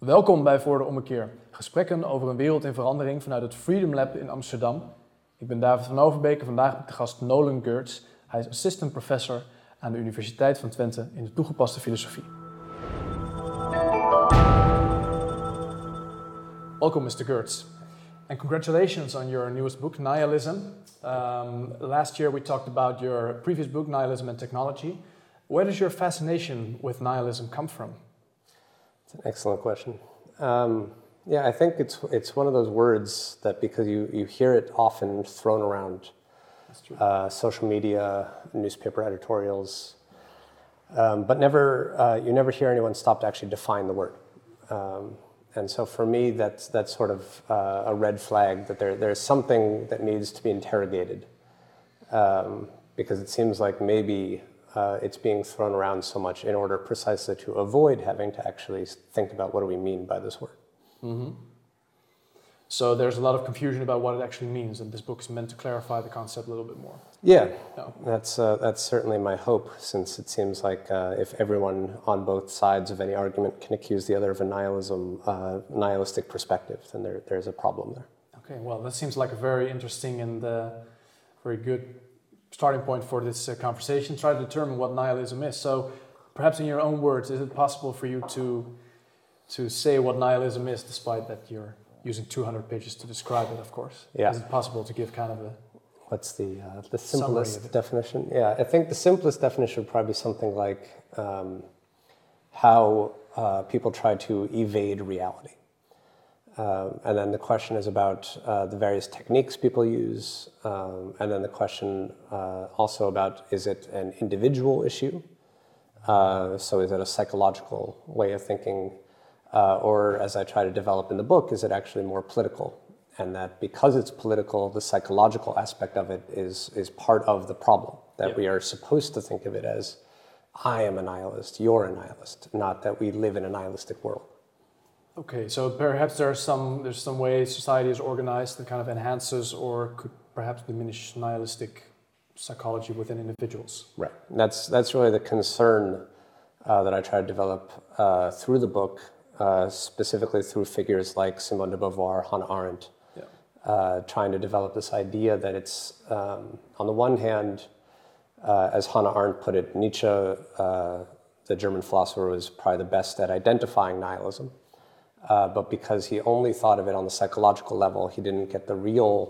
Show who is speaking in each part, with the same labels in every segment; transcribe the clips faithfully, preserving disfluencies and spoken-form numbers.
Speaker 1: Welkom bij Voor de Ommekeer. Gesprekken over een wereld in verandering vanuit het Freedom Lab in Amsterdam. Ik ben David van Overbeek en vandaag met de gast Nolan Gertz. Hij is assistant professor aan de Universiteit van Twente in de toegepaste filosofie. Welcome, mister Gertz. And congratulations on your newest book, Nihilism. Um, last year we talked about your previous book, Nihilism and Technology. Where does your fascination with nihilism come from?
Speaker 2: It's an excellent question. Um, yeah, I think it's it's one of those words that because you, you hear it often thrown around,
Speaker 1: That's true.
Speaker 2: Uh, social media, newspaper editorials, um, but never uh, you never hear anyone stop to actually define the word. Um, and so for me, that's that's sort of uh, a red flag that there there's something that needs to be interrogated, um, because it seems like maybe. Uh, it's being thrown around so much in order precisely to avoid having to actually think about what do we mean by this word.
Speaker 1: Mm-hmm. So there's a lot of confusion about what it actually means, and this book is meant to clarify the concept a little bit more.
Speaker 2: Yeah,
Speaker 1: No.
Speaker 2: that's uh, that's certainly my hope, since it seems like uh, if everyone on both sides of any argument can accuse the other of a nihilism, uh, nihilistic perspective, then there there's a problem there.
Speaker 1: Okay, well, that seems like a very interesting and uh, very good starting point for this uh, conversation. Try to determine what nihilism is. So, perhaps in your own words, is it possible for you to to say what nihilism is, despite that you're using two hundred pages to describe it, of course?
Speaker 2: Yeah.
Speaker 1: Is it possible to give kind of a
Speaker 2: What's the uh, the
Speaker 1: summary of
Speaker 2: simplest
Speaker 1: it?
Speaker 2: definition? Yeah, I think the simplest definition would probably be something like um, how uh, people try to evade reality. Um, and then the question is about uh, the various techniques people use. Um, and then the question uh, also about, is it an individual issue? Uh, so is it a psychological way of thinking? Uh, or, as I try to develop in the book, is it actually more political? And that because it's political, the psychological aspect of it is, is part of the problem. That
Speaker 1: Yeah.
Speaker 2: we are supposed to think of it as, I am a nihilist, you're a nihilist, not that we live in a nihilistic world.
Speaker 1: Okay, so perhaps there are some there's some way society is organized that kind of enhances or could perhaps diminish nihilistic psychology within individuals.
Speaker 2: Right. That's that's really the concern uh, that I try to develop uh, through the book, uh, specifically through figures like Simone de Beauvoir, Hannah Arendt,
Speaker 1: Yeah.
Speaker 2: uh, trying to develop this idea that it's, um, on the one hand, uh, as Hannah Arendt put it, Nietzsche, uh, the German philosopher, was probably the best at identifying nihilism. Uh, but because he only thought of it on the psychological level, he didn't get the real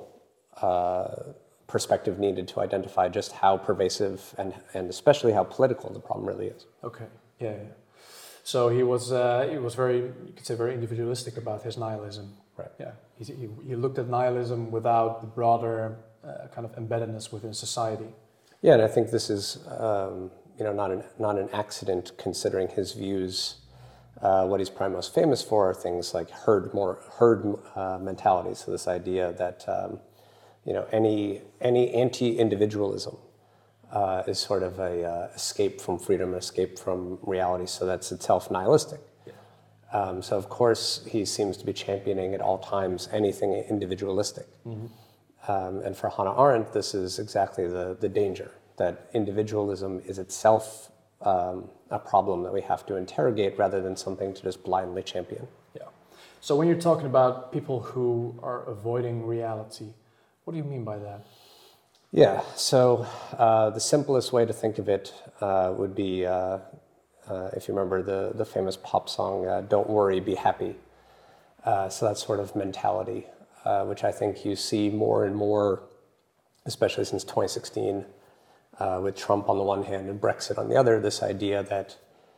Speaker 2: uh, perspective needed to identify just how pervasive and, and especially how political the problem really is.
Speaker 1: Okay, yeah, yeah. So he was uh, he was very, you could say, very individualistic about his nihilism.
Speaker 2: Right.
Speaker 1: Yeah, he, he, he looked at nihilism without the broader uh, kind of embeddedness within society.
Speaker 2: Yeah, and I think this is um, you know not an not an accident, considering his views. Uh, what he's probably most famous for are things like herd more herd uh, mentality. So this idea that um, you know any any anti-individualism uh, is sort of a uh, escape from freedom, escape from reality. So that's itself nihilistic.
Speaker 1: Yeah.
Speaker 2: Um, so of course he seems to be championing at all times anything individualistic.
Speaker 1: Mm-hmm.
Speaker 2: Um, and for Hannah Arendt, this is exactly the the danger, that individualism is itself Um, a problem that we have to interrogate rather than something to just blindly champion.
Speaker 1: Yeah. So when you're talking about people who are avoiding reality, what do you mean by that?
Speaker 2: Yeah, so uh, the simplest way to think of it uh, would be, uh, uh, if you remember the, the famous pop song, uh, Don't Worry, Be Happy. Uh, so that sort of mentality, uh, which I think you see more and more, especially since twenty sixteen, Uh, with Trump on the one hand and Brexit on the other, this idea that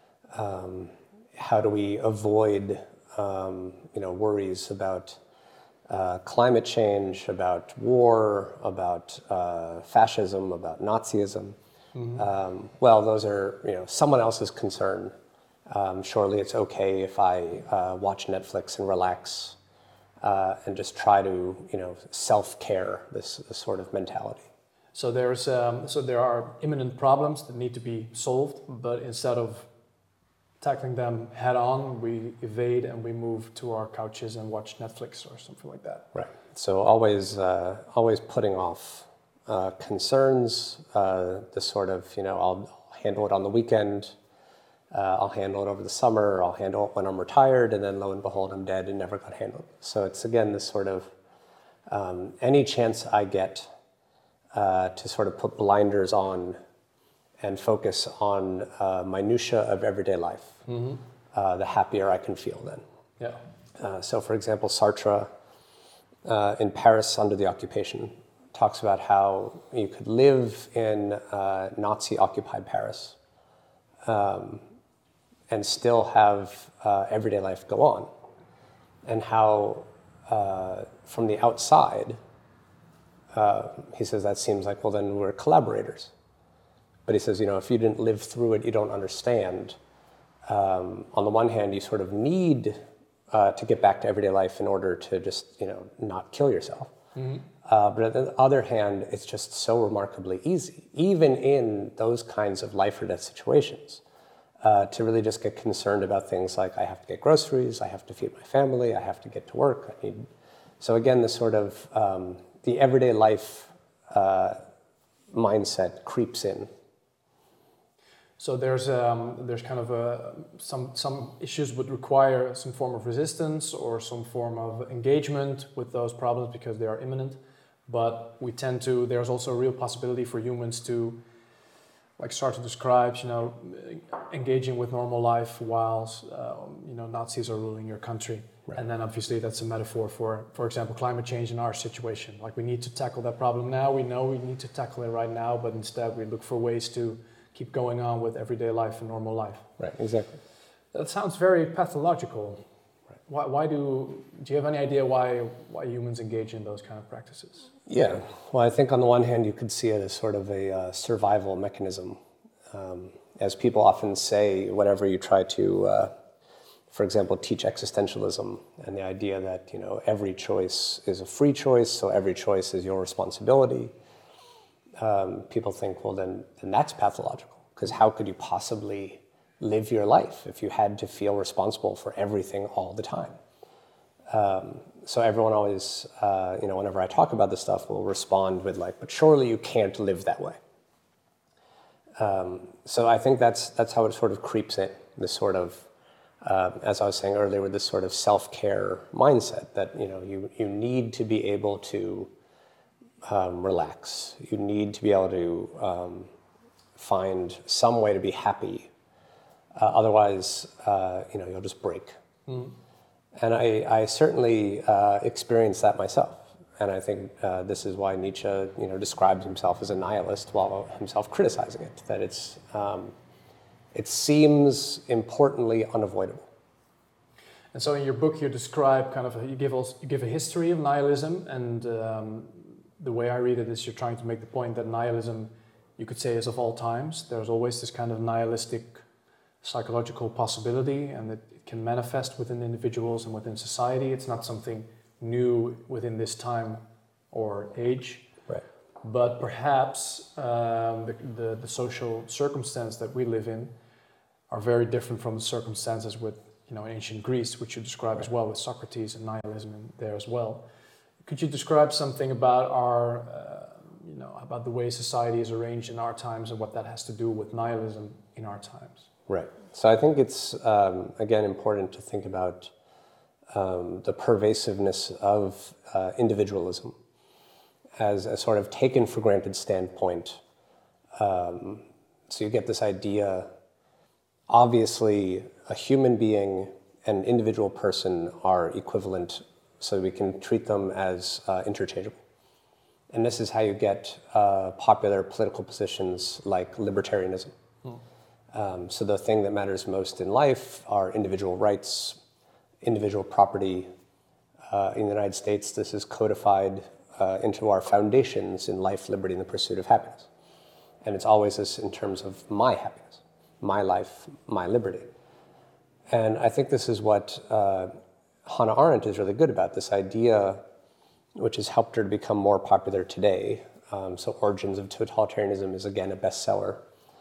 Speaker 2: um, how do we avoid um, you know, worries about uh, climate change, about war, about uh, fascism, about Nazism. Mm-hmm. Um, well, those are you know someone else's concern. Um, surely it's okay if I uh, watch Netflix and relax uh, and just try to you know self-care, this, this sort of mentality.
Speaker 1: So there's um, so there are imminent problems that need to be solved, but instead of tackling them head on, we evade and we move to our couches and watch Netflix or something like that.
Speaker 2: Right. So always, uh, always putting off uh, concerns. Uh, the sort of you know I'll handle it on the weekend. Uh, I'll handle it over the summer, I'll handle it when I'm retired, and then lo and behold, I'm dead and never got handled. So it's, again, this sort of, um, any chance I get uh, to sort of put blinders on and focus on uh, minutia of everyday life, mm-hmm. uh, the happier I can feel then.
Speaker 1: Yeah.
Speaker 2: Uh, so, for example, Sartre uh, in Paris under the occupation talks about how you could live in uh, Nazi-occupied Paris um, and still have uh, everyday life go on, and how uh, from the outside, uh, he says that seems like, well, then we're collaborators. But he says, you know, if you didn't live through it, you don't understand. Um, on the one hand, you sort of need uh, to get back to everyday life in order to just, you know, not kill yourself. Mm-hmm. Uh, but on the other hand, it's just so remarkably easy, even in those kinds of life or death situations, uh, to really just get concerned about things like I have to get groceries, I have to feed my family, I have to get to work. I need... So again, this sort of um, the everyday life uh, mindset creeps in.
Speaker 1: So there's um, there's kind of a, some some issues would require some form of resistance or some form of engagement with those problems because they are imminent. But we tend to, there's also a real possibility for humans to, like Sartre describes, you know, engaging with normal life while, um, you know, Nazis are ruling your country. Right. And then obviously that's a metaphor for, for example, climate change in our situation. Like we need to tackle that problem now. We know we need to tackle it right now, but instead we look for ways to keep going on with everyday life and normal life.
Speaker 2: Right, exactly.
Speaker 1: That sounds very pathological. Right. Why, why do, do you have any idea why, why humans engage in those kind of practices?
Speaker 2: Yeah, well, I think on the one hand, you could see it as sort of a uh, survival mechanism. Um, as people often say, whenever you try to, uh, for example, teach existentialism and the idea that, you know, every choice is a free choice, so every choice is your responsibility. Um, people think, well, then, then that's pathological, because how could you possibly live your life if you had to feel responsible for everything all the time? Um, so everyone always, uh, you know, whenever I talk about this stuff, will respond with like, but surely you can't live that way. Um, so I think that's that's how it sort of creeps in, this sort of, uh, as I was saying earlier, with this sort of self-care mindset that, you know, you, you need to be able to Um, relax. You need to be able to um, find some way to be happy. Uh, otherwise, uh, you know, you'll just break. Mm. And I, I certainly uh, experienced that myself. And I think uh, this is why Nietzsche, you know, describes himself as a nihilist while himself criticizing it. That it's, um, it seems importantly unavoidable.
Speaker 1: And so in your book, you describe kind of, a, you give also, you give a history of nihilism, and um, the way I read it is you're trying to make the point that nihilism, you could say, is of all times. There's always this kind of nihilistic psychological possibility, and it, it can manifest within individuals and within society. It's not something new within this time or age.
Speaker 2: Right.
Speaker 1: But perhaps um, the, the, the social circumstance that we live in are very different from the circumstances with, you know, ancient Greece, which you describe right. as well, with Socrates and nihilism in there as well. Could you describe something about our, uh, you know, about the way society is arranged in our times and what that has to do with nihilism in our times?
Speaker 2: Right. So I think it's, um, again, important to think about um, the pervasiveness of uh, individualism as a sort of taken for granted standpoint. Um, so you get this idea, obviously, a human being and an individual person are equivalent, so we can treat them as uh, interchangeable. And this is how you get uh, popular political positions like libertarianism. Mm. Um, so the thing that matters most in life are individual rights, individual property. Uh, in the United States, this is codified uh, into our foundations in life, liberty, and the pursuit of happiness. And it's always this in terms of my happiness, my life, my liberty. And I think this is what uh, Hannah Arendt is really good about, this idea which has helped her to become more popular today. Um, so Origins of Totalitarianism is, again, a bestseller.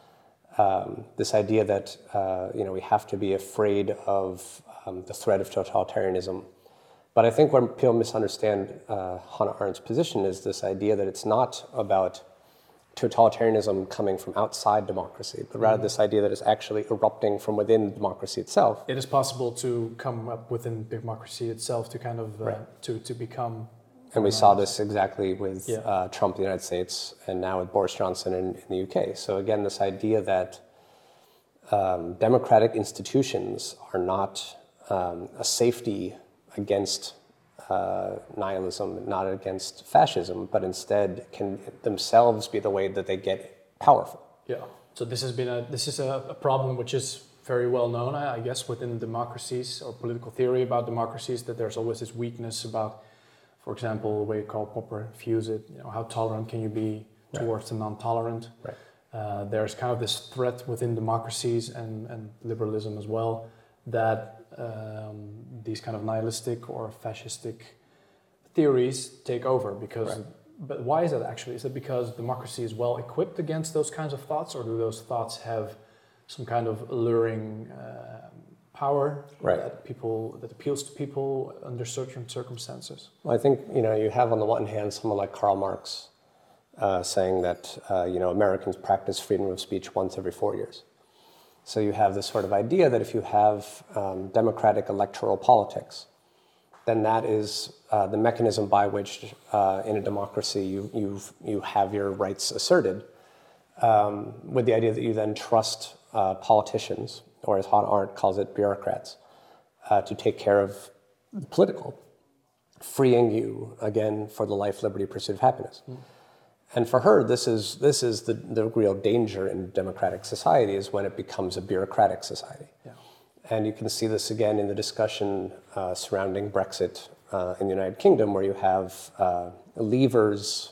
Speaker 2: Um, this idea that uh, you know, we have to be afraid of um, the threat of totalitarianism. But I think what people misunderstand uh, Hannah Arendt's position is this idea that it's not about totalitarianism coming from outside democracy, but rather mm. this idea that it's actually erupting from within democracy itself.
Speaker 1: It is possible to come up within democracy itself to kind of uh, right. to to become.
Speaker 2: And we saw this exactly with
Speaker 1: yeah.
Speaker 2: uh, Trump in the United States, and now with Boris Johnson in, in the U K. So again, this idea that um, democratic institutions are not um, a safety against uh, nihilism, not against fascism, but instead can themselves be the way that they get powerful.
Speaker 1: Yeah. So this has been a this is a, a problem which is very well known, I, I guess, within democracies or political theory about democracies, that there's always this weakness about, for example, the way Karl Popper views it, you know, how tolerant can you be towards right. the non-tolerant?
Speaker 2: Right.
Speaker 1: Uh, there's kind of this threat within democracies and, and liberalism as well, that um, these kind of nihilistic or fascistic theories take over. Because, right. But why is that actually? Is it because democracy is well equipped against those kinds of thoughts, or do those thoughts have some kind of alluring uh, power
Speaker 2: right.
Speaker 1: that people that appeals to people under certain circumstances?
Speaker 2: Well, I think you know you have on the one hand someone like Karl Marx uh, saying that uh, you know Americans practice freedom of speech once every four years. So you have this sort of idea that if you have um, democratic electoral politics, then that is uh, the mechanism by which uh, in a democracy you you you have your rights asserted, um, with the idea that you then trust uh, politicians, or as Hannah Arendt calls it, bureaucrats, uh, to take care of the political, freeing you, again, for the life, liberty, pursuit of happiness. Mm. And for her, this is this is the, the real danger in democratic society, is when it becomes a bureaucratic society. Yeah. And you can see this again in the discussion uh, surrounding Brexit uh, in the United Kingdom, where you have uh, levers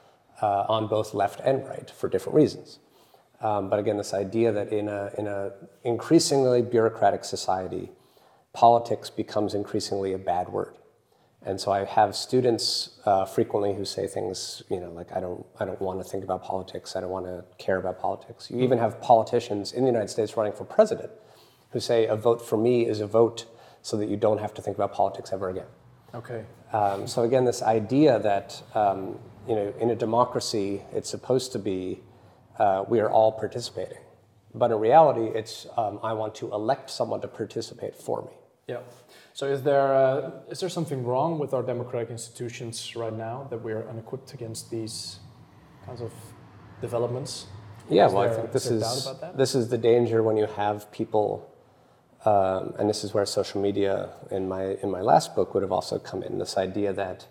Speaker 2: uh, on both left and right for different reasons. Um, but again, this idea that in a in a increasingly bureaucratic society, politics becomes increasingly a bad word. And so I have students uh, frequently who say things, you know, like I don't I don't want to think about politics. I don't want to care about politics. You even have politicians in the United States running for president who say a vote for me is a vote so that you don't have to think about politics ever again.
Speaker 1: Okay.
Speaker 2: Um, so again, this idea that um, you know, in a democracy, it's supposed to be uh, we are all participating, but in reality, it's um, I want to elect someone to participate for me.
Speaker 1: Yeah. So is there uh, is there something wrong with our democratic institutions right now, that we are unequipped against these kinds of developments?
Speaker 2: Yeah.
Speaker 1: Is
Speaker 2: Well,
Speaker 1: there,
Speaker 2: I think this
Speaker 1: is,
Speaker 2: is
Speaker 1: about that?
Speaker 2: this is the danger when you have people. Um, and this is where social media in my in my last book would have also come in. This idea that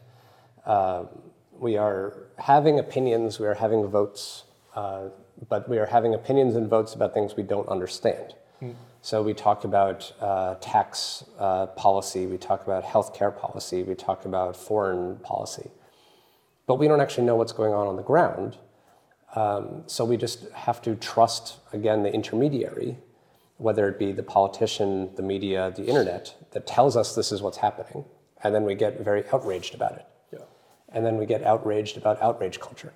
Speaker 2: uh, we are having opinions, we are having votes, uh, but we are having opinions and votes about things we don't understand. Mm. So we talk about uh, tax uh, policy, we talk about healthcare policy, we talk about foreign policy, but we don't actually know what's going on on the ground. Um, so we just have to trust, again, the intermediary, whether it be the politician, the media, the internet, that tells us this is what's happening. And then we get very outraged about it. Yeah. And then we get outraged about outrage culture.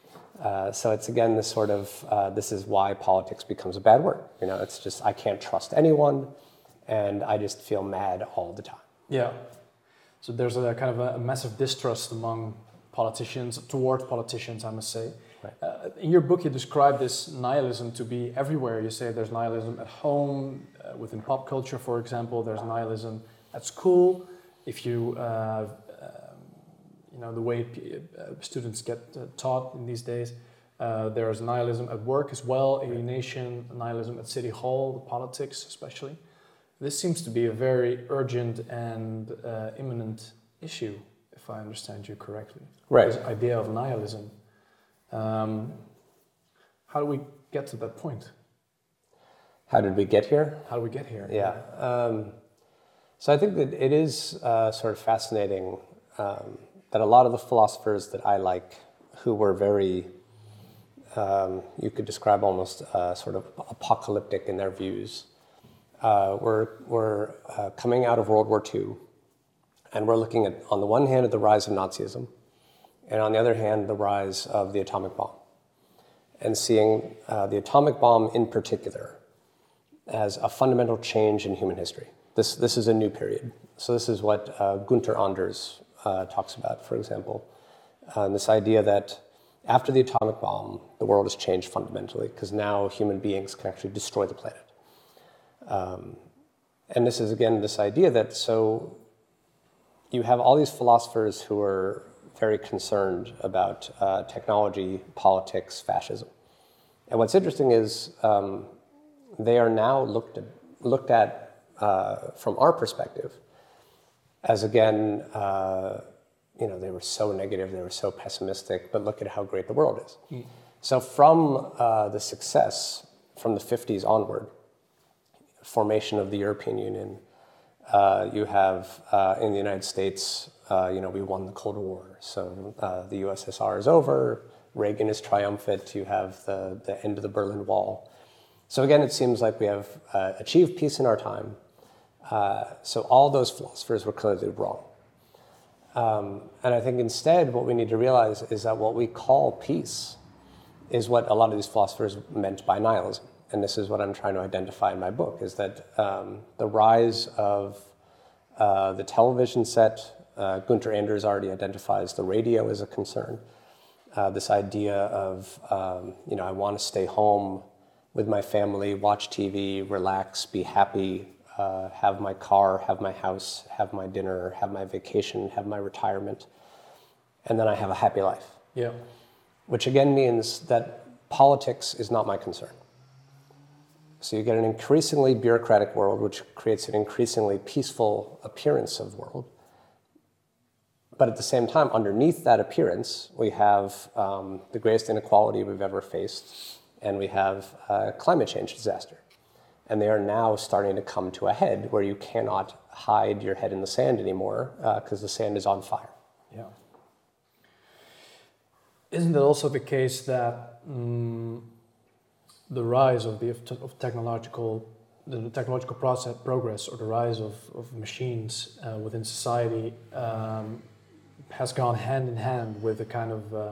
Speaker 2: Uh, so it's, again, this sort of, uh, this is why politics becomes a bad word. You know, it's just, I can't trust anyone, and I just feel mad all the time.
Speaker 1: Yeah. So there's a kind of a, a massive distrust among politicians, toward politicians, I must say. Right. Uh, in your book, you describe this nihilism to be everywhere. You say there's nihilism at home, uh, within pop culture, for example. There's nihilism at school. If you, uh, um, you know, the way p- uh, students get uh, taught in these days, uh, there's nihilism at work as well, alienation, nihilism at City Hall, the politics especially. This seems to be a very urgent and uh, imminent issue, if I understand you correctly.
Speaker 2: Right.
Speaker 1: This idea of nihilism. Um, how do we get to that point?
Speaker 2: How did we get here?
Speaker 1: How do we get here?
Speaker 2: Yeah. Um, so I think that it is uh, sort of fascinating um, that a lot of the philosophers that I like, who were very, um, you could describe almost uh, sort of apocalyptic in their views, uh, were, were uh, coming out of World War Two, and we're looking at, on the one hand, at the rise of Nazism, and on the other hand, the rise of the atomic bomb, and seeing uh, the atomic bomb in particular as a fundamental change in human history. This, this is a new period. So this is what uh, Gunther Anders uh, talks about, for example. Uh, this idea that After the atomic bomb, the world has changed fundamentally because now human beings can actually destroy the planet. Um, and this is, again, this idea that so you have all these philosophers who are very concerned about uh, technology, politics, fascism. And what's interesting is um, they are now looked at, looked at uh, from our perspective as, again, uh, you know, they were so negative, they were so pessimistic, but look at how great the world is. Mm. So from uh, the success from the fifties onward, formation of the European Union, uh, you have uh, in the United States, uh, you know, we won the Cold War. So uh, the U S S R is over, Reagan is triumphant, you have the, the end of the Berlin Wall. So again, it seems like we have uh, achieved peace in our time. Uh, so all those philosophers were clearly wrong. Um, and I think instead what we need to realize is that what we call peace is what a lot of these philosophers meant by nihilism. And this is what I'm trying to identify in my book, is that um, the rise of uh, the television set, uh, Gunther Anders already identifies the radio as a concern. Uh, this idea of, um, you know, I want to stay home with my family, watch T V, relax, be happy, Uh, have my car, have my house, have my dinner, have my vacation, have my retirement, and then I have a happy life.
Speaker 1: Yeah.
Speaker 2: Which again means that politics is not my concern. So you get an increasingly bureaucratic world, which creates an increasingly peaceful appearance of the world. But at the same time, underneath that appearance, we have um, the greatest inequality we've ever faced, and we have uh, climate change disaster. And they are now starting to come to a head where you cannot hide your head in the sand anymore because uh, the sand is on fire.
Speaker 1: Yeah. Isn't it also the case that um, the rise of the of technological the technological process progress or the rise of, of machines uh, within society um, has gone hand in hand with the kind of uh,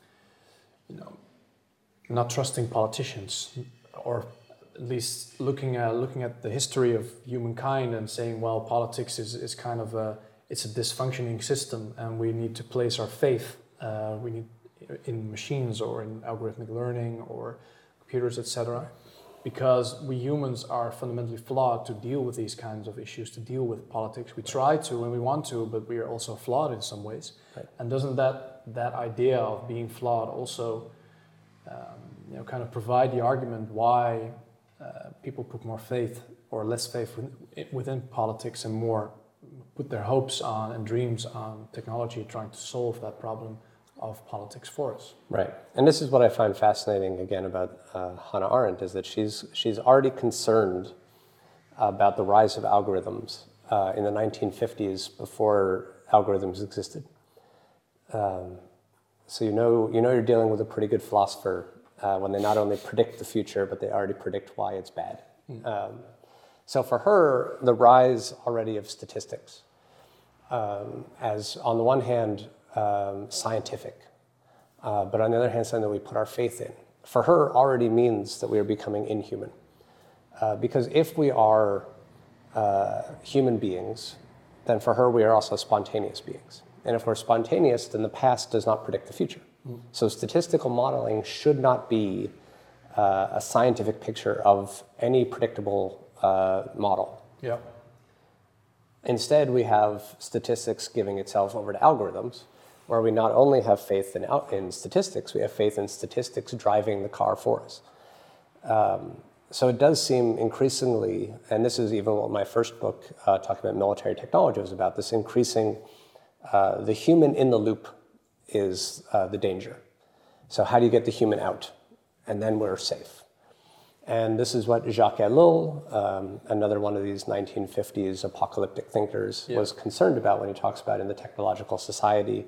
Speaker 1: you know not trusting politicians, or at least looking at looking at the history of humankind and saying, well, politics is, is kind of a it's a dysfunctioning system, and we need to place our faith uh, we need in machines or in algorithmic learning or computers, et cetera, because we humans are fundamentally flawed to deal with these kinds of issues, to deal with politics. We try to when we want to, but we are also flawed in some ways. Right. And doesn't that that idea of being flawed also um, you know kind of provide the argument why Uh, people put more faith or less faith within, within politics and more put their hopes on and dreams on technology trying to solve that problem of politics for us?
Speaker 2: Right. And this is what I find fascinating, again, about uh, Hannah Arendt, is that she's, she's already concerned about the rise of algorithms uh, in the nineteen fifties before algorithms existed. Um, so you know, you know you're dealing with a pretty good philosopher Uh, when they not only predict the future, but they already predict why it's bad. Mm. Um, so for her, the rise already of statistics, um, as on the one hand, um, scientific, uh, but on the other hand, something that we put our faith in, for her already means that we are becoming inhuman. Uh, because if we are uh, human beings, then for her, we are also spontaneous beings. And if we're spontaneous, then the past does not predict the future. So statistical modeling should not be uh, a scientific picture of any predictable uh, model.
Speaker 1: Yeah.
Speaker 2: Instead, we have statistics giving itself over to algorithms, where we not only have faith in, in statistics, we have faith in statistics driving the car for us. Um, so it does seem increasingly, and this is even what my first book, uh, talking about military technology, was about, this increasing, uh, the human in the loop is uh, the danger. So how do you get the human out? And then we're safe. And this is what Jacques Ellul, um, another one of these nineteen fifties apocalyptic thinkers, yeah. was concerned about when he talks about in the technological society,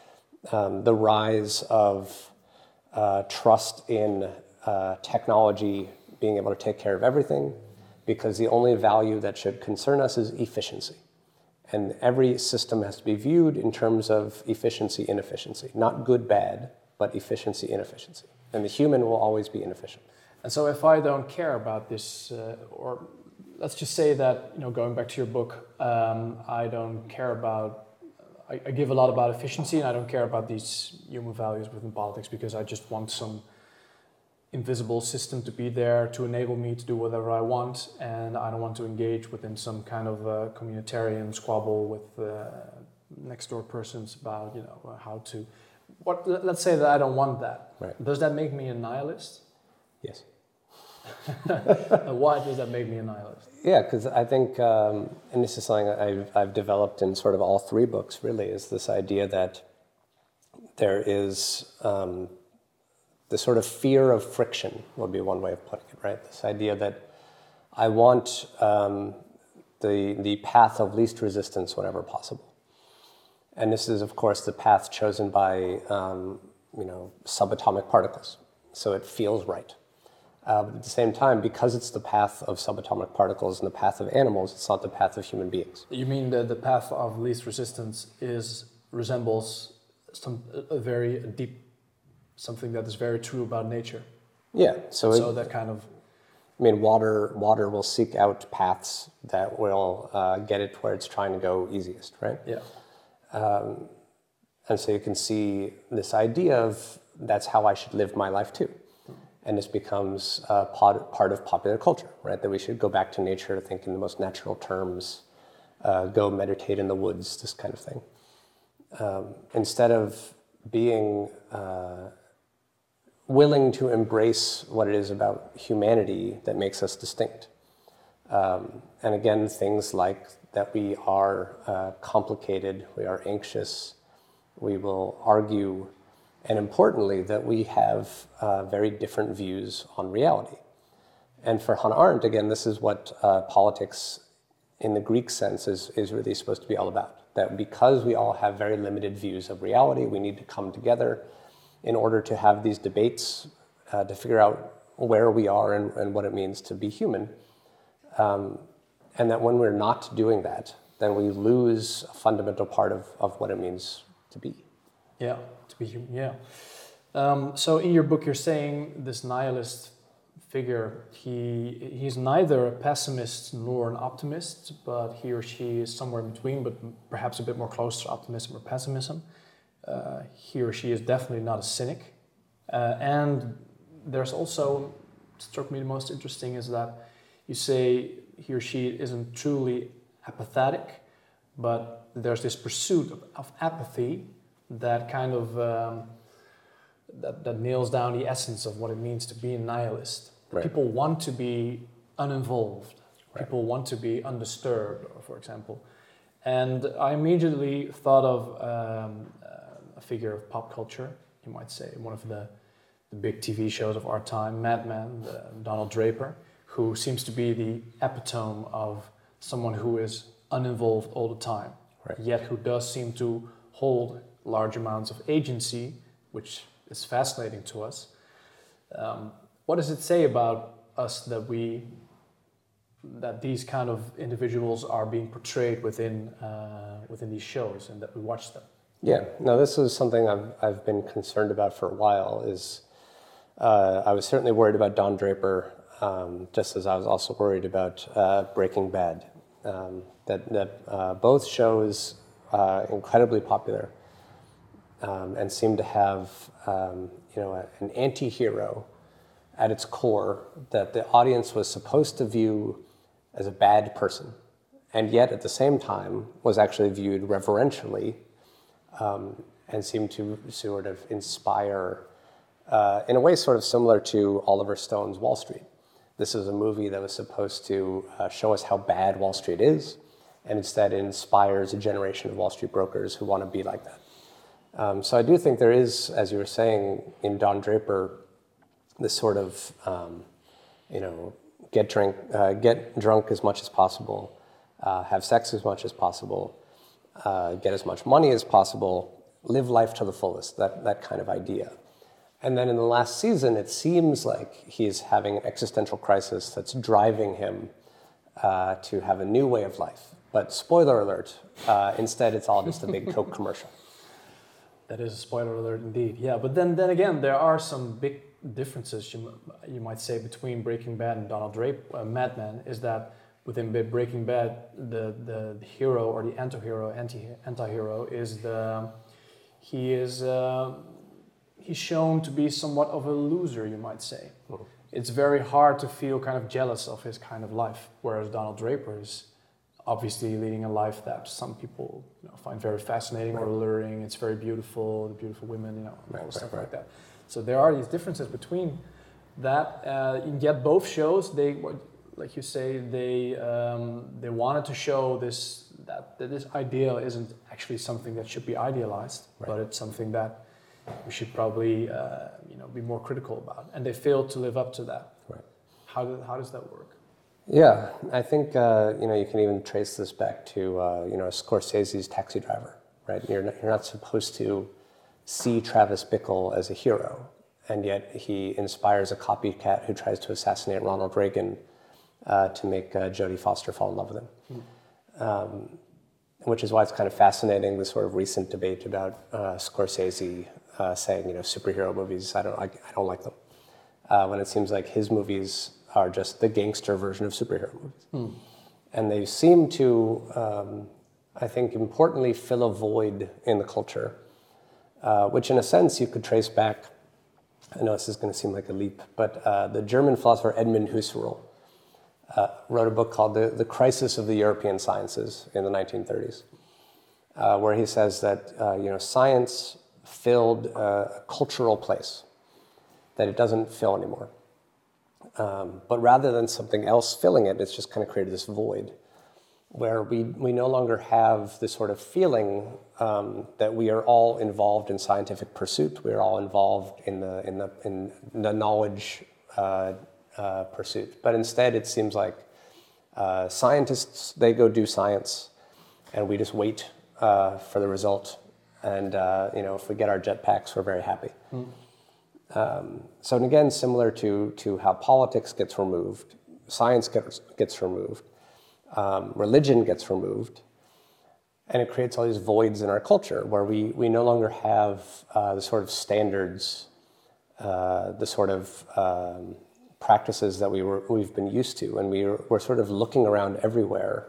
Speaker 2: um, the rise of uh, trust in uh, technology being able to take care of everything, because the only value that should concern us is efficiency. And every system has to be viewed in terms of efficiency, inefficiency. Not good, bad, but efficiency, inefficiency. And the human will always be inefficient.
Speaker 1: And so if I don't care about this, uh, or let's just say that, you know, going back to your book, um, I don't care about, I, I give a lot about efficiency, and I don't care about these human values within politics because I just want some invisible system to be there to enable me to do whatever I want, and I don't want to engage within some kind of uh, communitarian squabble with uh, next door persons about, you know, how to. What? Let's say that I don't want that.
Speaker 2: Right.
Speaker 1: Does that make me a nihilist?
Speaker 2: Yes.
Speaker 1: Why does that make me a nihilist?
Speaker 2: Yeah, because I think, um, and this is something I've, I've developed in sort of all three books, really, is this idea that there is um, the sort of fear of friction, would be one way of putting it, right? This idea that I want um, the, the path of least resistance whenever possible. And this is, of course, the path chosen by, um, you know, subatomic particles. So it feels right. Uh, but at the same time, because it's the path of subatomic particles and the path of animals, it's not the path of human beings.
Speaker 1: You mean that the path of least resistance is resembles some a very deep, something that is very true about nature?
Speaker 2: Yeah. So,
Speaker 1: so
Speaker 2: it,
Speaker 1: that kind of.
Speaker 2: I mean, water water will seek out paths that will uh, get it where it's trying to go easiest, right?
Speaker 1: Yeah.
Speaker 2: Um, and so you can see this idea of that's how I should live my life too. And this becomes uh, part, part of popular culture, right? That we should go back to nature, think in the most natural terms, uh, go meditate in the woods, this kind of thing. Um, instead of being uh, willing to embrace what it is about humanity that makes us distinct. Um, and again, things like that we are uh, complicated, we are anxious, we will argue, and importantly, that we have uh, very different views on reality. And for Hannah Arendt, again, this is what uh, politics in the Greek sense is, is really supposed to be all about. That because we all have very limited views of reality, we need to come together in order to have these debates uh, to figure out where we are and, and what it means to be human. Um, and that when we're not doing that, then we lose a fundamental part of, of what it means to be.
Speaker 1: Yeah. To be human, yeah. Um, so in your book, you're saying this nihilist figure, he he's neither a pessimist nor an optimist, but he or she is somewhere in between, but perhaps a bit more close to optimism or pessimism. Uh, he or she is definitely not a cynic. Uh, and there's also, struck me the most interesting is that you say he or she isn't truly apathetic, but there's this pursuit of, of apathy that kind of um, that, that nails down the essence of what it means to be a nihilist. Right. People want to be uninvolved. Right. People want to be undisturbed, for example. And I immediately thought of um, uh, a figure of pop culture, you might say, one of the, the big T V shows of our time, Mad Men, uh, Donald Draper, who seems to be the epitome of someone who is uninvolved all the time, right. Yet who does seem to hold large amounts of agency, which is fascinating to us. Um, what does it say about us that we, that these kind of individuals are being portrayed within uh, within these shows and that we watch them?
Speaker 2: Yeah, no, this is something I've I've been concerned about for a while. Is uh, I was certainly worried about Don Draper, um, just as I was also worried about uh, Breaking Bad. Um, that that uh, both shows uh, incredibly popular. Um, and seem to have, um, you know, a, an anti-hero at its core that the audience was supposed to view as a bad person, and yet at the same time was actually viewed reverentially um, and seemed to sort of inspire, uh, in a way sort of similar to Oliver Stone's Wall Street. This is a movie that was supposed to uh, show us how bad Wall Street is, and instead it inspires a generation of Wall Street brokers who want to be like that. Um, so I do think there is, as you were saying, in Don Draper, this sort of, um, you know, get drink, uh, get drunk as much as possible, uh, have sex as much as possible, uh, get as much money as possible, live life to the fullest, that, that kind of idea. And then in the last season, it seems like he's having an existential crisis that's driving him uh, to have a new way of life. But spoiler alert, uh, instead it's all just a big Coke commercial.
Speaker 1: That is a spoiler alert indeed. Yeah, but then then again, there are some big differences, you, you might say, between Breaking Bad and Donald Draper, uh, Mad Men, is that within Breaking Bad, the, the, the hero or the anti-hero, anti, anti-hero is the, he is, uh, he's shown to be somewhat of a loser, you might say. Mm-hmm. It's very hard to feel kind of jealous of his kind of life, whereas Donald Draper is obviously leading a life that some people, you know, find very fascinating right. or alluring. It's very beautiful, the beautiful women, you know, right, all right, stuff right. like that. So there are these differences between that, uh, and yet both shows, they, like you say, they um, they wanted to show this that, that this ideal isn't actually something that should be idealized, right. but it's something that we should probably uh, you know be more critical about, and they failed to live up to that.
Speaker 2: Right.
Speaker 1: How do, how does that work?
Speaker 2: Yeah, I think uh, you know you can even trace this back to uh, you know Scorsese's Taxi Driver, right? You're not, you're not supposed to see Travis Bickle as a hero, and yet he inspires a copycat who tries to assassinate Ronald Reagan uh, to make uh, Jodie Foster fall in love with him. Mm. Um, which is why it's kind of fascinating, the sort of recent debate about uh, Scorsese uh, saying, you know, superhero movies, I don't, I, I don't like them. Uh, when it seems like his movies are just the gangster version of superhero movies. Mm. And they seem to, um, I think, importantly fill a void in the culture, uh, which in a sense you could trace back, I know this is going to seem like a leap, but uh, the German philosopher Edmund Husserl uh, wrote a book called the, the Crisis of the European Sciences in the nineteen thirties, uh, where he says that uh, you know science filled a cultural place that it doesn't fill anymore. Um, but rather than something else filling it, it's just kind of created this void where we, we no longer have this sort of feeling um, that we are all involved in scientific pursuit. We are all involved in the in the in the knowledge uh, uh, pursuit. But instead, it seems like uh, scientists, they go do science, and we just wait uh, for the result. And uh, you know, if we get our jetpacks, we're very happy. Mm. Um, so and again, similar to to how politics gets removed, science gets gets removed. Um, religion gets removed, and it creates all these voids in our culture where we, we no longer have uh, the sort of standards, uh, the sort of um, practices that we were, we've been used to, and we were, we're sort of looking around everywhere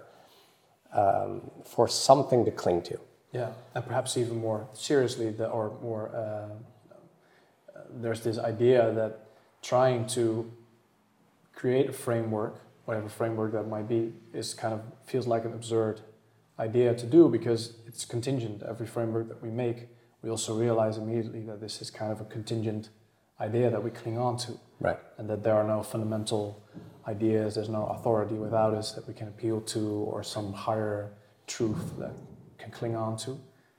Speaker 2: um, for something to cling to.
Speaker 1: Yeah, and perhaps even more seriously, the, or more, uh, uh, there's this idea that trying to create a framework, whatever framework that might be, is kind of feels like an absurd idea to do because it's contingent. Every framework that we make, we also realize immediately that this is kind of a contingent idea that we cling on to.
Speaker 2: Right.
Speaker 1: And that there are no fundamental ideas, there's no authority without us that we can appeal to, or some higher truth that can cling on to.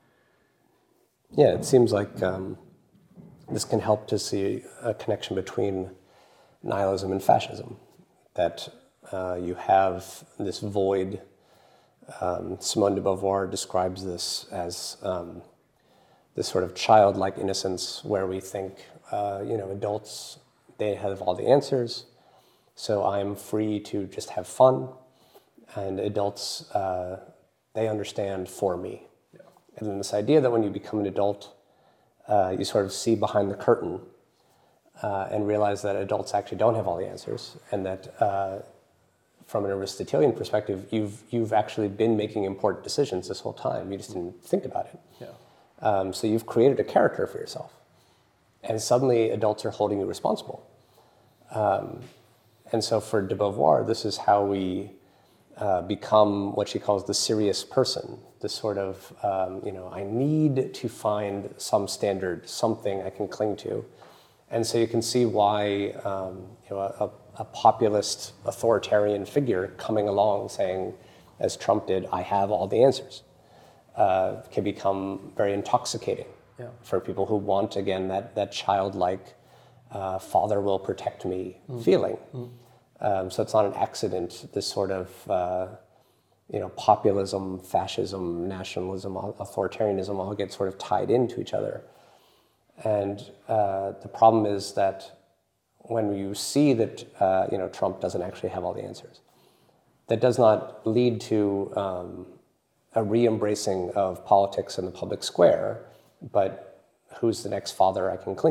Speaker 2: Yeah, it seems like um, this can help to see a connection between nihilism and fascism. That Uh, you have this void. Um, Simone de Beauvoir describes this as um, this sort of childlike innocence where we think, uh, you know, adults, they have all the answers, so I'm free to just have fun, and adults, uh, they understand for me. Yeah. And then this idea that when you become an adult, uh, you sort of see behind the curtain uh, and realize that adults actually don't have all the answers, and that uh, from an Aristotelian perspective, you've you've actually been making important decisions this whole time. You just didn't think about it.
Speaker 1: Yeah.
Speaker 2: Um, so you've created a character for yourself, and suddenly adults are holding you responsible. Um, and so for de Beauvoir, this is how we uh, become what she calls the serious person. This sort of um, you know, I need to find some standard, something I can cling to, and so you can see why um, you know a, a a populist authoritarian figure coming along saying, as Trump did, I have all the answers, uh, can become very intoxicating yeah. for people who want, again, that, that childlike, uh, father will protect me mm. feeling. Mm. Um, so it's not an accident, this sort of uh, you know, populism, fascism, nationalism, authoritarianism all get sort of tied into each other. And uh, the problem is that when you see that uh, you know Trump doesn't actually have all the answers, that does not lead to um, a re-embracing of politics in the public square, but who's the next father I can cling to?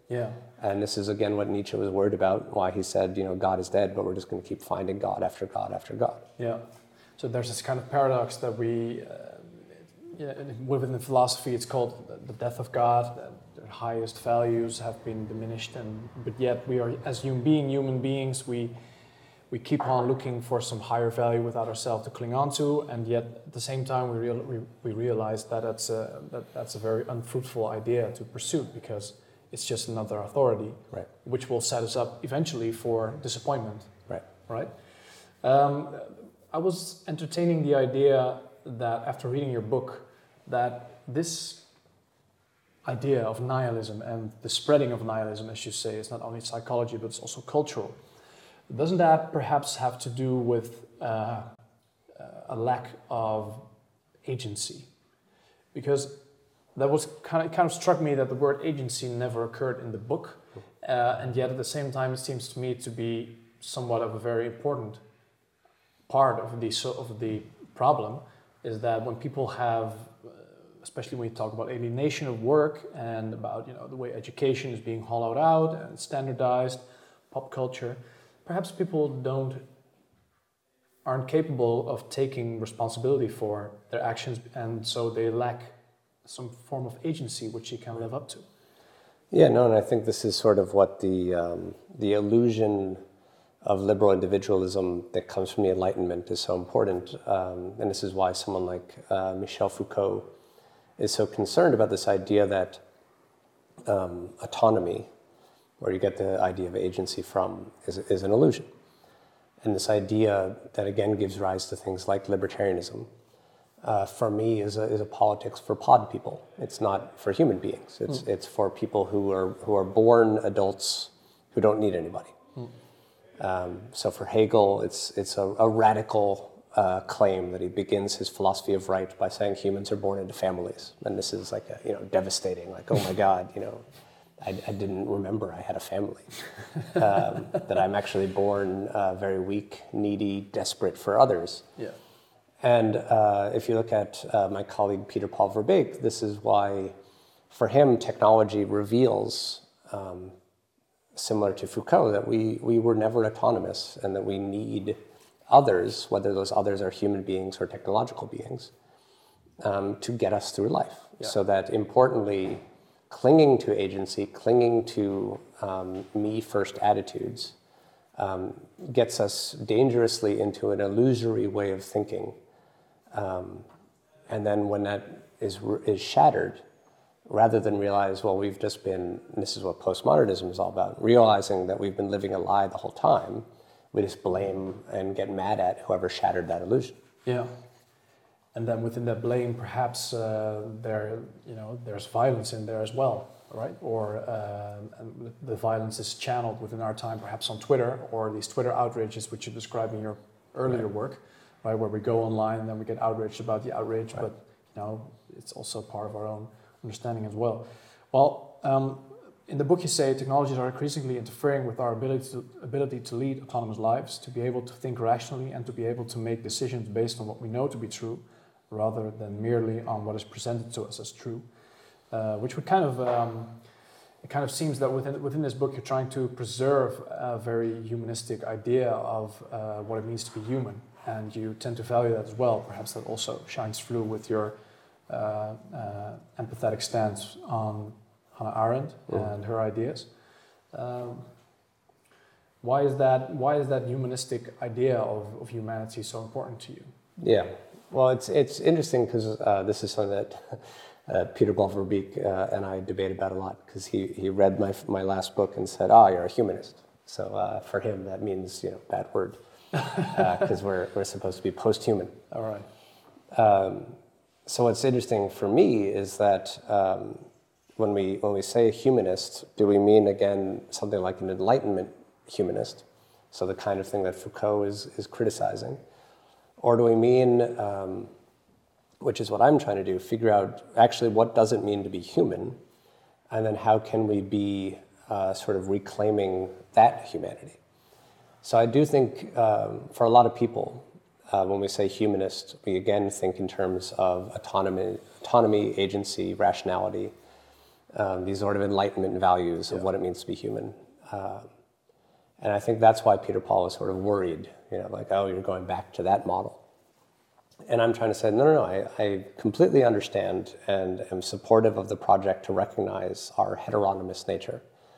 Speaker 1: Yeah.
Speaker 2: And this is, again, what Nietzsche was worried about, why he said, you know, God is dead, but we're just going to keep finding God after God after God.
Speaker 1: Yeah. So there's this kind of paradox that we, uh, yeah, within the philosophy, it's called the death of God. Their highest values have been diminished, and but yet we are, as human being, human beings, we we keep on looking for some higher value without ourselves to cling on to, and yet at the same time we real, we, we realize that that's a that, that's a very unfruitful idea to pursue, because it's just another authority,
Speaker 2: right,
Speaker 1: which will set us up eventually for disappointment.
Speaker 2: Right.
Speaker 1: Right. Um, I was entertaining the idea that after reading your book, that this idea of nihilism and the spreading of nihilism, as you say, is not only psychology but it's also cultural. Doesn't that perhaps have to do with uh, a lack of agency? Because that was kind of kind of struck me that the word agency never occurred in the book, uh, and yet at the same time it seems to me to be somewhat of a very important part of the so of the problem. Is that when people have, uh, especially when you talk about alienation of work and about, you know, the way education is being hollowed out and standardized, pop culture, perhaps people don't aren't capable of taking responsibility for their actions, and so they lack some form of agency which you can live up to.
Speaker 2: Yeah, no, and I think this is sort of what the um, the illusion of liberal individualism that comes from the Enlightenment is so important, um, and this is why someone like uh, Michel Foucault is so concerned about this idea that um, autonomy, where you get the idea of agency from, is, is an illusion. And this idea that again gives rise to things like libertarianism, uh, for me is a, is a politics for pod people. It's not for human beings. It's, mm. it's for people who are, who are born adults who don't need anybody. Mm. Um, so for Hegel, it's, it's a, a radical uh, claim that he begins his philosophy of right by saying humans are born into families. And this is like, a, you know, devastating, like, oh my God, you know, I, I didn't remember I had a family. Um, that I'm actually born uh, very weak, needy, desperate for others.
Speaker 1: Yeah.
Speaker 2: And uh, if you look at uh, my colleague Peter Paul Verbeek, this is why, for him, technology reveals, um, similar to Foucault, that we, we were never autonomous and that we need others, whether those others are human beings or technological beings, um, to get us through life. Yeah. So that, importantly, clinging to agency, clinging to um, me-first attitudes um, gets us dangerously into an illusory way of thinking. Um, and then when that is, is shattered, rather than realize, well, we've just been, and this is what postmodernism is all about, realizing that we've been living a lie the whole time, we just blame and get mad at whoever shattered that illusion.
Speaker 1: Yeah. And then within that blame, perhaps uh, there, you know, there's violence in there as well, right? Or uh, the violence is channeled within our time, perhaps on Twitter, or these Twitter outrages, which you described in your earlier right. work, right? Where we go online and then we get outraged about the outrage, right. but you know, it's also part of our own understanding as well. Well, um, in the book you say technologies are increasingly interfering with our ability to, ability to lead autonomous lives, to be able to think rationally and to be able to make decisions based on what we know to be true, rather than merely on what is presented to us as true, uh, which would kind of, um, it kind of seems that within within this book you're trying to preserve a very humanistic idea of uh, what it means to be human, and you tend to value that as well. Perhaps that also shines through with your uh, uh, empathetic stance on Hannah Arendt mm. and her ideas. Um, why is that? Why is that humanistic idea of, of humanity so important to you?
Speaker 2: Yeah. Well, it's it's interesting because uh, this is something that uh, Peter Paul Verbeek uh, and I debate about a lot, because he, he read my my last book and said, "Ah, oh, you're a humanist." So uh, for him, that means, you know, bad word, because uh, we're we're supposed to be post-human.
Speaker 1: All right.
Speaker 2: Um, so what's interesting for me is that um, when we when we say humanist, do we mean again something like an Enlightenment humanist? So the kind of thing that Foucault is is criticizing. Or do we mean, um, which is what I'm trying to do, figure out actually what does it mean to be human, and then how can we be uh, sort of reclaiming that humanity? So I do think um, for a lot of people, uh, when we say humanist, we again think in terms of autonomy, autonomy, agency, rationality. um, these sort of enlightenment values of
Speaker 1: Yeah.
Speaker 2: what it means to be human. Um, and I think that's why Peter Paul was sort of worried, you know, like, oh, you're going back to that model. And I'm trying to say, no, no, no, I, I completely understand and am supportive of the project to recognize our heteronomous nature.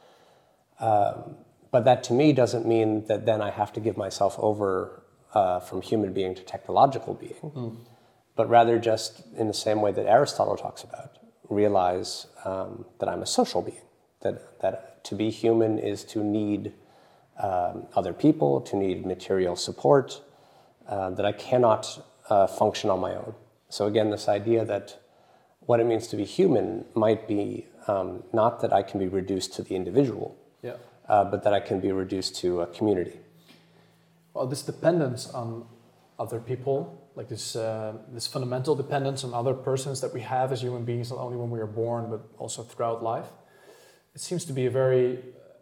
Speaker 2: Um, but that to me doesn't mean that then I have to give myself over uh, from human being to technological being, mm. but rather just in the same way that Aristotle talks about, realize um, that I'm a social being, that, that to be human is to need um, other people, to need material support, uh, that I cannot uh, function on my own. So again, this idea that what it means to be human might be um, not that I can be reduced to the individual,
Speaker 1: yeah.
Speaker 2: uh, but that I can be reduced to a community.
Speaker 1: Well, this dependence on other people, like this uh, this fundamental dependence on other persons that we have as human beings, not only when we are born, but also throughout life, it seems to be a very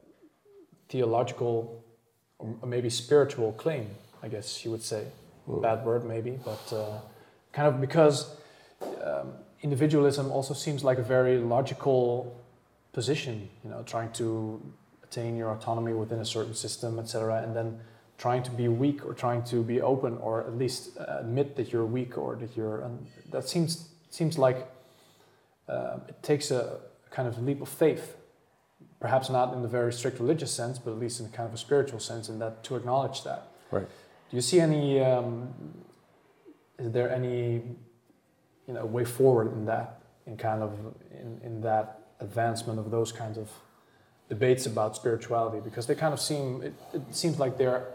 Speaker 1: theological or maybe spiritual claim, I guess you would say. Mm. Bad word maybe, but uh, kind of because um, individualism also seems like a very logical position, you know, trying to attain your autonomy within a certain system, et cetera, and then trying to be weak or trying to be open or at least uh, admit that you're weak or that you're... Um, that seems seems like uh, it takes a kind of leap of faith, perhaps not in the very strict religious sense, but at least in kind of a spiritual sense, in that to acknowledge that.
Speaker 2: Right.
Speaker 1: Do you see any... Um, is there any, you know, way forward in that, in kind of in, in that advancement of those kinds of debates about spirituality? Because they kind of seem... It, it seems like they're...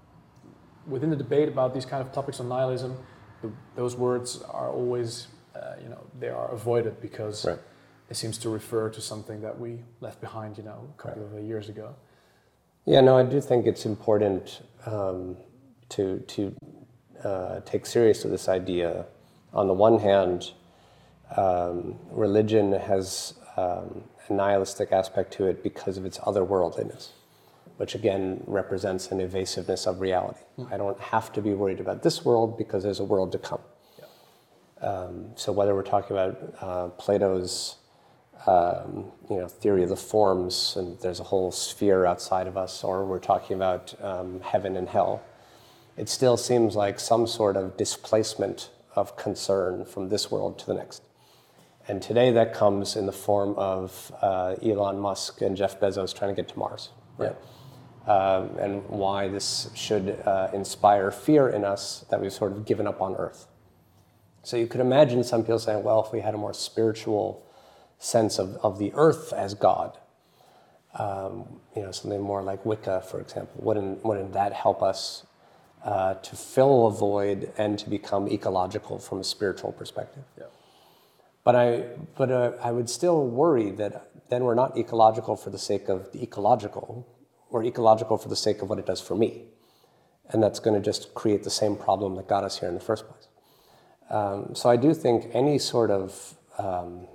Speaker 1: Within the debate about these kind of topics on nihilism, the, those words are always, uh, you know, they are avoided because right. it seems to refer to something that we left behind, you know, a couple right. of years ago.
Speaker 2: Yeah, no, I do think it's important um, to to uh, take seriously this idea. On the one hand, um, religion has um, a nihilistic aspect to it because of its otherworldliness, which again represents an evasiveness of reality. Mm. I don't have to be worried about this world because there's a world to come. Yeah. Um, so whether we're talking about uh, Plato's um, you know, theory of the forms, and there's a whole sphere outside of us, or we're talking about um, heaven and hell, it still seems like some sort of displacement of concern from this world to the next. And today that comes in the form of uh, Elon Musk and Jeff Bezos trying to get to Mars. Right? Yeah. Um, and why this should uh, inspire fear in us that we've sort of given up on Earth. So you could imagine some people saying, well, if we had a more spiritual sense of, of the Earth as God, um, you know, something more like Wicca, for example, wouldn't, wouldn't that help us uh, to fill a void and to become ecological from a spiritual perspective? Yeah. But I, but uh, I would still worry that then we're not ecological for the sake of the ecological, or ecological for the sake of what it does for me. And that's going to just create the same problem that got us here in the first place. Um, so I do think any sort of um,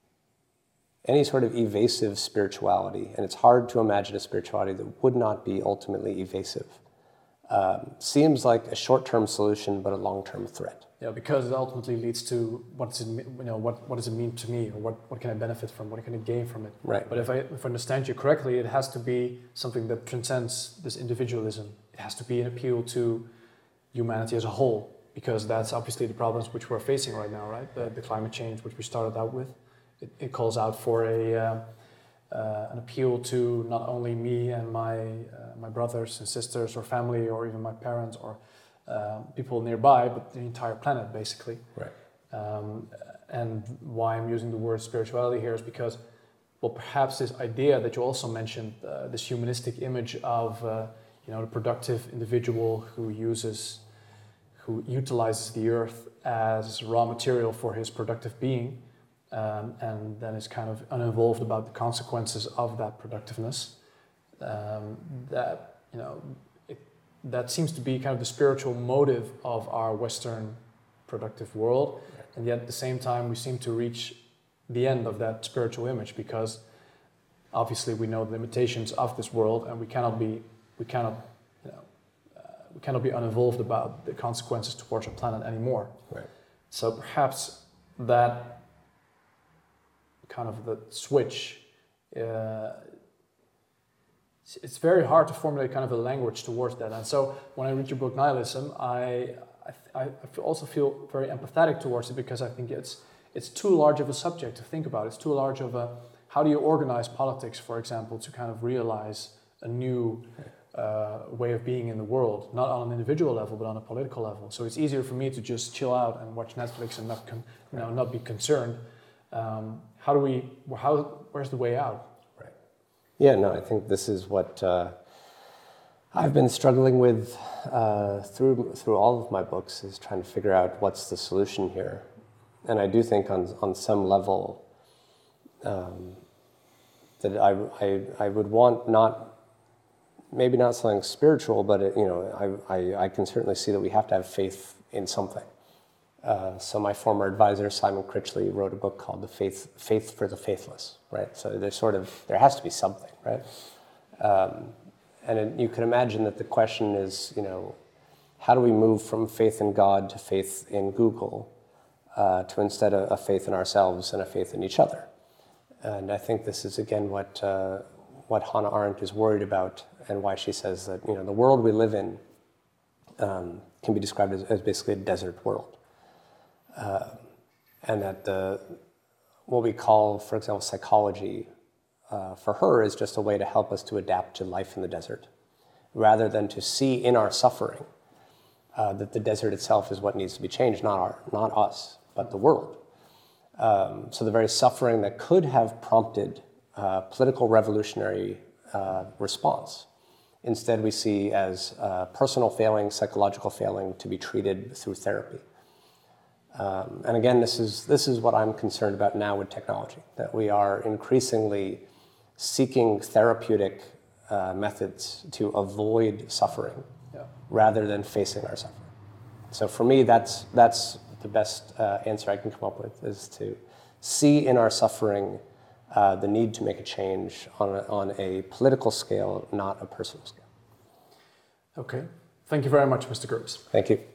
Speaker 2: any sort of evasive spirituality, and it's hard to imagine a spirituality that would not be ultimately evasive, um, seems like a short-term solution but a long-term threat.
Speaker 1: Yeah, because it ultimately leads to what's it, you know, what, what does it mean to me, or what, what can I benefit from, what can I gain from it?
Speaker 2: Right.
Speaker 1: But if I, if I understand you correctly, it has to be something that transcends this individualism. It has to be an appeal to humanity as a whole, because that's obviously the problems which we're facing right now, right? The, the climate change, which we started out with, it, it calls out for a uh, uh, an appeal to not only me and my uh, my brothers and sisters, or family, or even my parents, or Uh, people nearby, but the entire planet, basically.
Speaker 2: Right.
Speaker 1: Um, and why I'm using the word spirituality here is because, well, perhaps this idea that you also mentioned, uh, this humanistic image of, uh, you know, the productive individual who uses, who utilizes the earth as raw material for his productive being, um, and then is kind of uninvolved about the consequences of that productiveness. Um, that, you know, that seems to be kind of the spiritual motive of our Western productive world. Yeah. And yet at the same time, we seem to reach the end of that spiritual image, because obviously we know the limitations of this world, and we cannot be, we cannot, you know, uh, we cannot be uninvolved about the consequences towards our planet anymore.
Speaker 2: Right.
Speaker 1: So perhaps that kind of the switch. Uh, it's, it's very hard to formulate kind of a language towards that. And so when I read your book Nihilism, I I, I also feel very empathetic towards it, because I think it's it's too large of a subject to think about. It's too large of a, how do you organize politics, for example, to kind of realize a new uh, way of being in the world, not on an individual level, but on a political level. So it's easier for me to just chill out and watch Netflix and not, con- you know, not be concerned. Um, how do we? How? Where's the way out?
Speaker 2: Right. Yeah. No. I think this is what uh, I've been struggling with uh, through through all of my books, is trying to figure out what's the solution here. And I do think on on some level um, that I, I I would want not. Maybe not something spiritual, but it, you know, I, I, I can certainly see that we have to have faith in something. Uh, so my former advisor, Simon Critchley, wrote a book called "The Faith Faith for the Faithless." Right. So there's sort of there has to be something, right? Um, and it, you can imagine that the question is, you know, how do we move from faith in God to faith in Google, uh, to instead a, a faith in ourselves and a faith in each other? And I think this is again what uh, what Hannah Arendt is worried about, and why she says that, you know, the world we live in um, can be described as, as basically a desert world. Uh, and that the, what we call, for example, psychology, uh, for her is just a way to help us to adapt to life in the desert, rather than to see in our suffering uh, that the desert itself is what needs to be changed, not, our, not us, but the world. Um, so the very suffering that could have prompted uh, political revolutionary uh, response, instead we see as uh, personal failing, psychological failing, to be treated through therapy. Um, and again, this is this is what I'm concerned about now with technology, that we are increasingly seeking therapeutic uh, methods to avoid suffering, yeah, rather than facing our suffering. So for me, that's that's the best uh, answer I can come up with, is to see in our suffering uh, the need to make a change on a, on a political scale, not a personal scale.
Speaker 1: Okay. Thank you very much, Mister Gerbes.
Speaker 2: Thank you.